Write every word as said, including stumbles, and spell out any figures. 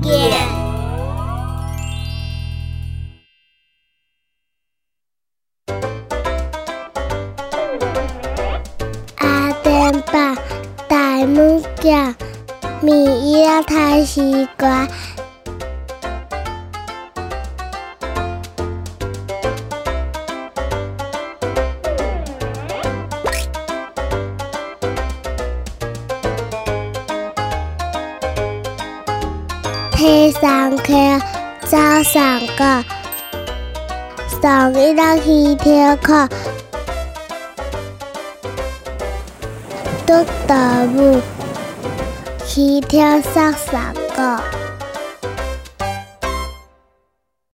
见。 阿电爸大物件，米叶太西瓜。天上课，早上课，上一日去跳课，读动物，去跳上上课。